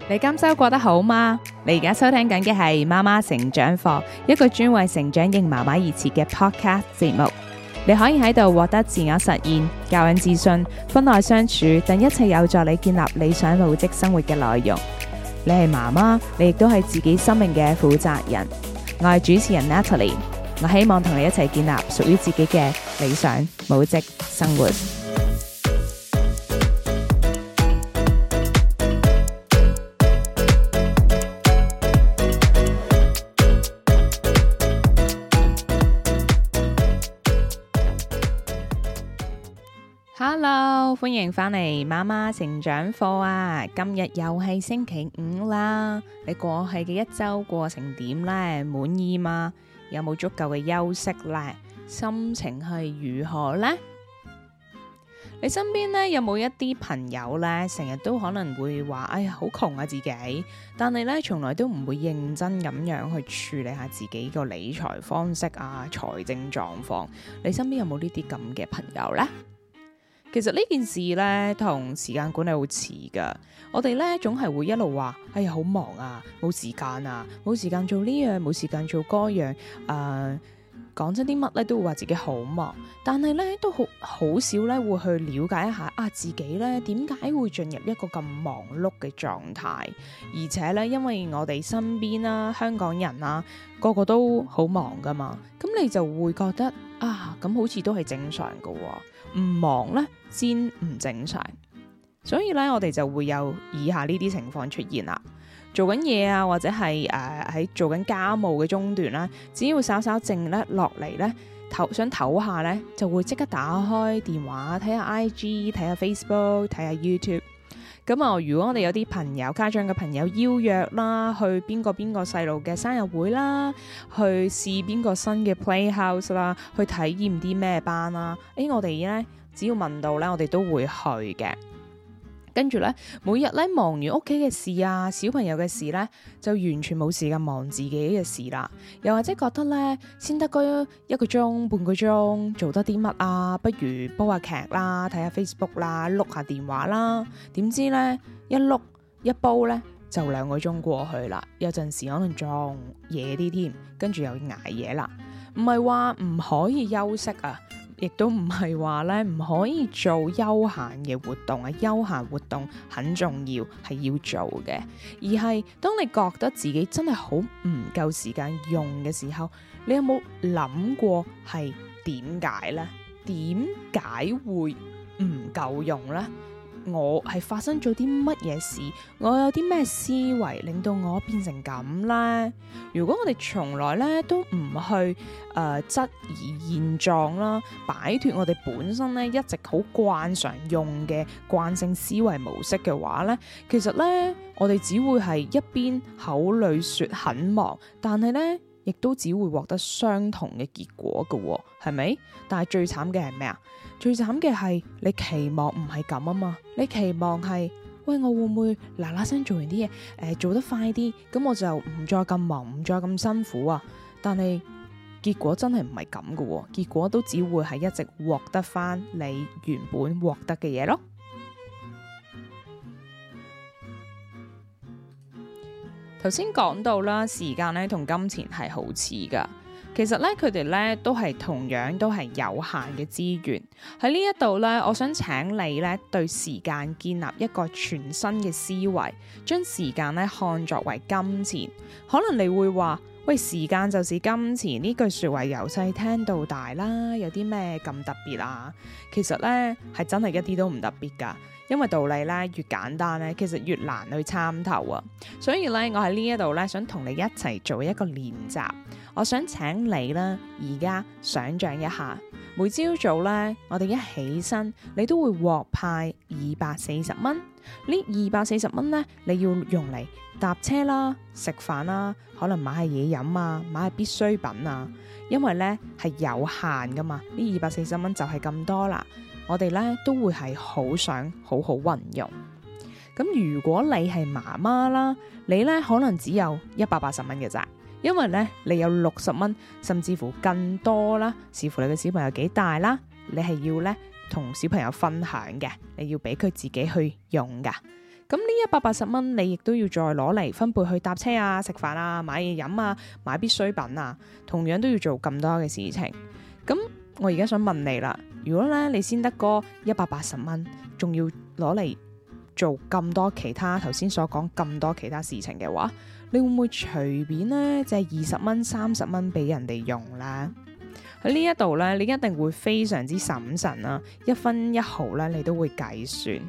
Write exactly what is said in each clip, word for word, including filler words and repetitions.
你今周過得好嗎？你而家收聽緊嘅係媽媽成長課，一個專為成長型媽媽而設嘅 podcast 節目。你可以喺度獲得自我實現、教養自信、婚內相處等一切有助你建立理想母職生活嘅內容。你係媽媽，你亦都係自己生命嘅負責人。我係主持人 Natalie， 我希望同你一齊建立屬於自己嘅理想母職生活。Hello， 歡迎返嚟媽媽成長課啊！今日又係星期五啦，你過去嘅一周過成點呢？滿意嗎？有冇足夠嘅休息呢？心情係如何呢？你身邊呢，有冇一啲朋友呢，成日都可能會話，哎呀，好窮啊自己，但係呢，從來都唔會認真咁樣去處理下自己個理財方式啊、財政狀況。你身邊有冇呢啲咁嘅朋友呢？其實呢件事咧，同時間管理好似噶。我哋咧總係會一路話，哎呀好忙啊，冇時間啊，冇時間做呢樣，冇時間做嗰樣。誒、呃，講真啲乜咧，都會話自己好忙。但係咧都好好少咧會去了解一下啊，自己咧點解會進入一個咁忙碌嘅狀態？而且咧，因為我哋身邊啦，香港人啊，個個都好忙噶嘛，咁你就會覺得啊，咁好似都係正常噶喎。唔忙咧先唔正常，所以咧我哋就會有以下呢啲情況出現啦。做緊嘢啊，或者係誒喺做緊家務嘅中段啦，只要稍稍靜咧落嚟咧，唞想唞下咧，就會即刻打開電話睇下 I G， 睇下 Facebook， 睇下 YouTube。咁啊，如果我哋有啲朋友、家長嘅朋友邀約啦，去邊個邊個細路嘅生日會啦，去試邊個新嘅 Playhouse 啦，去體驗啲咩班啦，誒，我哋咧只要問到咧，我哋都會去嘅。跟住咧，每日咧忙完屋企嘅事啊，小朋友嘅事咧，就完全冇時間忙自己嘅事啦。又或者覺得咧，先得嗰一個鐘、半個鐘，做得啲乜啊？不如煲下劇啦，睇下 Facebook 啦，碌下電話啦。點知咧，一碌一煲咧，就兩個鐘過去啦。有陣時可能仲夜啲添，跟住又捱夜啦。唔係話唔可以休息啊！亦都唔係話咧唔可以做休閒嘅活動啊，休閒活動很重要，係要做嘅。而係當你覺得自己真係好唔夠時間用嘅時候，你有冇諗過係點解呢？點解會唔夠用呢？我係發生咗啲乜嘢事？我有啲咩思維令到我變成咁呢？如果我哋從來咧都唔去誒、呃、質疑現狀啦，擺脫我哋本身咧一直好慣常用嘅慣性思維模式嘅話咧，其實咧我哋只會係一邊口裏說很忙，但係咧亦都只會獲得相同嘅結果嘅喎，係咪？但係最慘嘅係咩啊？最慘嘅係你期望唔係咁啊嘛，你期望係喂，我會唔會嗱嗱聲做完啲嘢，誒、呃、做得快啲，咁我就唔再咁忙，唔再咁辛苦啊。但係結果真係唔係咁嘅喎，結果都只會係一直獲得翻你原本獲得嘅嘢咯。頭先講到啦，時間咧同金錢係好似噶。其實咧，佢哋咧都係同樣都係有限嘅資源。喺呢一度咧，我想請你咧對時間建立一個全新嘅思維，將時間咧看作為金錢。可能你會話，喂，時間就是金錢呢句說話由細聽到大啦，有啲咩咁特別啊？其實咧係真係一啲都唔特別噶，因為道理咧越簡單咧，其實越難去參透啊。所以咧，我喺呢一度咧想同你一齊做一個練習。我想請你啦，而家想象一下，每朝早咧，我哋一起身，你都會獲派二百四十蚊。呢二百四十蚊咧，你要用嚟搭車啦、食飯啦，可能買下嘢飲啊，買下必需品啊。因為咧係有限噶嘛，呢二百四十蚊就係咁多啦。我哋咧都會係好想好好運用。咁如果你係媽媽啦，你咧可能只有一百八十蚊嘅咋。因為咧，你有六十蚊，甚至乎更多啦，視乎你嘅小朋友幾大啦，你係要咧同小朋友分享嘅，你要俾佢自己去用噶。 咁呢一百八十蚊，你亦都要再攞嚟分配去搭車啊、食飯啊、買嘢飲啊、買必需品啊，同樣都要做咁多嘅事情。咁我而家想問你啦，如果咧你先得嗰一百八十蚊，仲要攞嚟做咁多其他頭先所講咁多其他事情嘅話，你會唔會隨便咧借二十蚊、三十蚊俾人哋用咧？喺呢一度咧，你一定會非常之審慎啦，一分一毫咧你都會計算。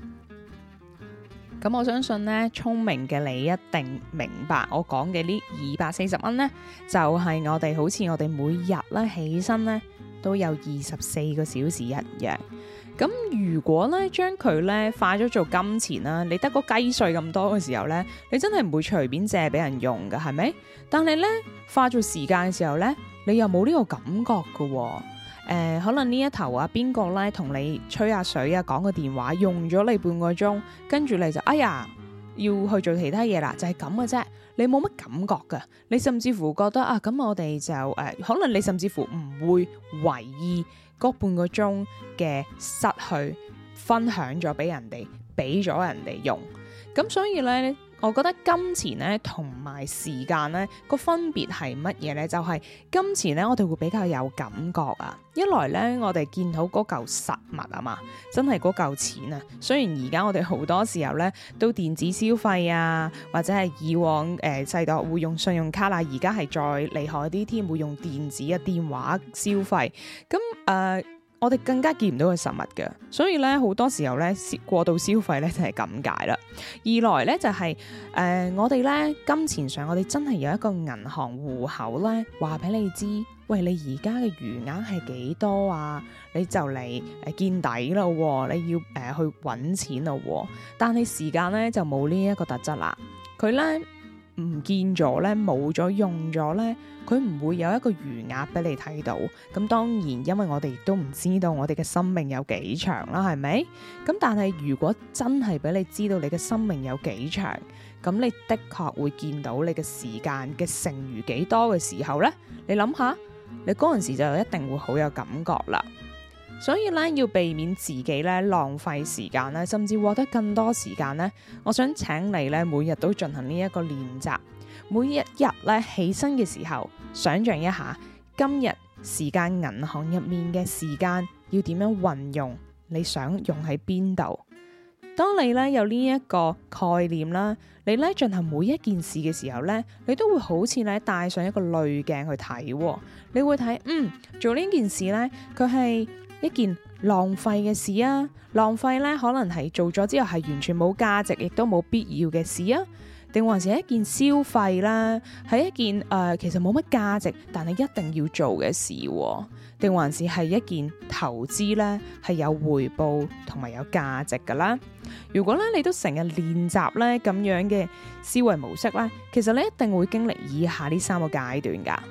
咁我相信咧，聰明嘅你一定明白我講嘅呢二百四十蚊咧，就係我哋好似我哋每日咧起身咧都有二十四個小時一樣。咁如果咧將佢咧化咗做金錢啦，你得個雞碎咁多嘅時候咧，你真係唔會隨便借俾人用噶，係咪？但係咧化做時間嘅時候咧，你又冇呢個感覺噶喎。誒、呃，可能呢一頭啊，邊個咧同你吹下水啊，講個電話，用咗你半個鐘，跟住你就哎呀要去做其他嘢啦，就係咁嘅啫。你冇乜感覺噶，你甚至乎覺得啊，咁我哋就誒、呃，可能你甚至乎唔會為意嗰半個鐘嘅失去分享咗俾人哋，俾咗人哋用。咁所以咧，我覺得金錢咧同埋時間咧個分別係乜嘢咧？就係、是、金錢咧，我哋會比較有感覺啊。一來咧，我哋見到嗰嚿實物啊嘛，真係嗰嚿錢啊。雖然而家我哋好多時候咧都電子消費啊，或者係以往誒、呃、世代會用信用卡啦，而家係再厲害啲添，會用電子嘅電話消費。咁誒。呃我哋更加見唔到佢實物嘅，所以咧好多時候咧過度消費咧就係咁解啦。二來咧就係、是、誒、呃、我哋咧金錢上我哋真係有一個銀行戶口咧，話俾你知，喂，你而家嘅餘額係幾多啊？你就嚟誒見底啦，你要誒、呃、去搵錢啦。但係時間咧就冇呢一個特質啦，佢咧唔見咗咧，冇咗用咗咧，佢唔會有一個餘額俾你睇到。咁當然，因為我哋亦都唔知道我哋嘅生命有幾長啦，係咪？咁但係如果真係俾你知道你嘅生命有幾長，咁你的確會見到你嘅時間嘅剩餘幾多嘅時候咧，你諗下，你嗰陣時就一定會好有感覺啦。所以咧，要避免自己咧浪費時間咧，甚至獲得更多時間咧，我想請你咧每日都進行呢一個練習。每一日咧起身嘅時候，想象一下今日時間銀行入面嘅時間要點樣運用，你想用喺邊度？當你咧有呢一個概念啦，你咧進行每一件事嘅時候咧，你都會好似咧帶上一個濾鏡去睇，你會睇，嗯，做呢件事咧，佢係一件浪費嘅事啊，浪費咧可能係做咗之後係完全冇價值，亦都冇必要嘅事啊，定還是一件消費啦，係一件誒、呃、其實冇乜價值，但係一定要做嘅事，啊，定還是係一件投資咧，係有回報同埋有價值噶啦。如果咧你都成日練習咧咁樣嘅思維模式咧，其實你一定會經歷以下呢三個階段噶。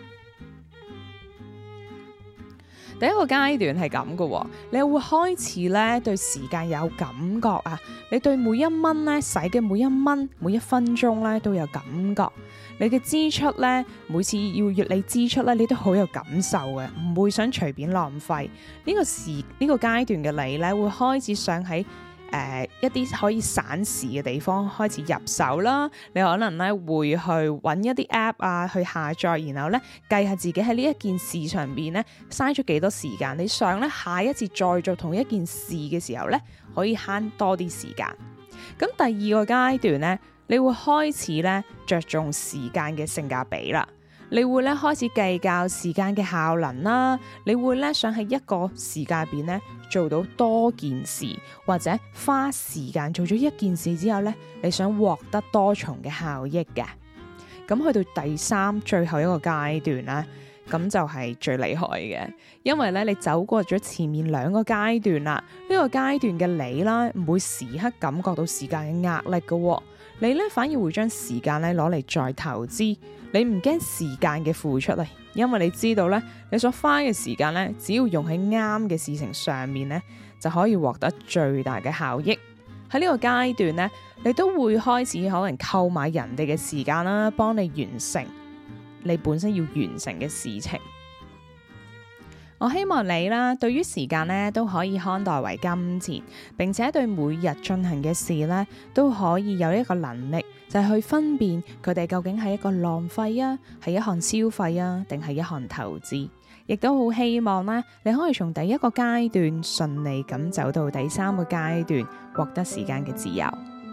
第一個階段係咁嘅，你會開始咧對時間有感覺啊，你對每一蚊咧使嘅每一蚊每一分鐘咧都有感覺，你嘅支出咧每次要越你支出咧，你都好有感受嘅，唔會想隨便浪費。呢個時呢個階段嘅你咧會開始想喺誒、呃，一啲可以省時嘅地方開始入手啦。你可能咧會去揾一啲 app 啊，去下載，然後咧計下自己喺呢一件事上邊咧嘥咗幾多時間。你想咧下一次再做同一件事嘅時候咧，可以慳多啲時間。咁第二個階段咧，你會開始咧着重時間嘅性價比啦。你會咧開始計較時間嘅效能啦，你會咧想喺一個時間入邊咧做到多件事，或者花時間做咗一件事之後咧，你想獲得多重嘅效益嘅。咁去到第三最後一個階段咧，咁就係最厲害嘅，因為咧你走過咗前面兩個階段啦，呢個階段嘅你啦，唔會時刻感覺到時間嘅壓力嘅，你咧反而會將時間咧攞嚟再投資。你唔驚時間嘅付出啊，因為你知道咧，你所花嘅時間咧，只要用喺啱嘅事情上面咧，就可以獲得最大嘅效益。喺呢個階段咧，你都會開始可能購買人哋嘅時間啦，幫你完成你本身要完成嘅事情。 我希望你啦，對於時間咧都可以看待為金錢，並且對每日進行嘅事咧都可以有一個能力，就係去分辨佢哋究竟係一個浪費啊，係一項消費啊，定係一項投資。亦都好希望咧，你可以從第一個階段順利咁走到第三個階段，獲得時間嘅自由。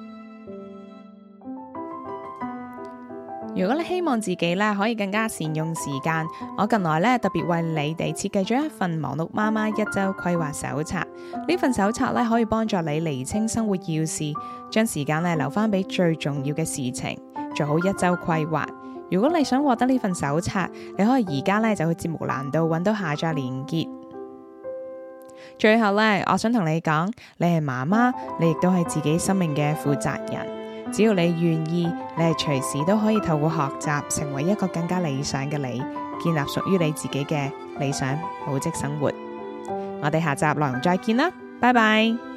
如果你希望自己咧可以更加善用時間，我近來咧特別為你哋設計咗一份忙碌媽媽一周規劃手冊。呢份手冊咧可以幫助你釐清生活要事，將時間咧留翻俾最重要嘅事情，做好一周規劃。如果你想獲得呢份手冊，你可以而家咧就去節目欄度揾到下載連結。最後咧，我想同你講，你係媽媽，你亦都係自己生命嘅負責人。只要你願意，你係隨時都可以透過學習，成為一個更加理想嘅你，建立屬於你自己嘅理想母職生活。我哋下集內容再見啦，拜拜。